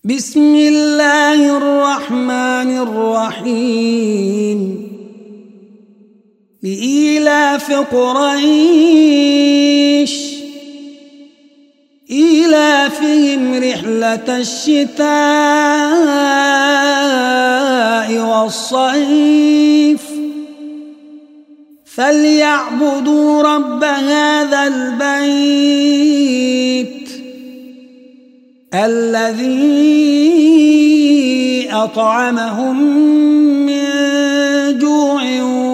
بسم الله الرحمن الرحيم لإيلاف قريش إيلافهم رحلة الشتاء والصيف فليعبدوا رب هذا البيت الذي أطعمهم من جوع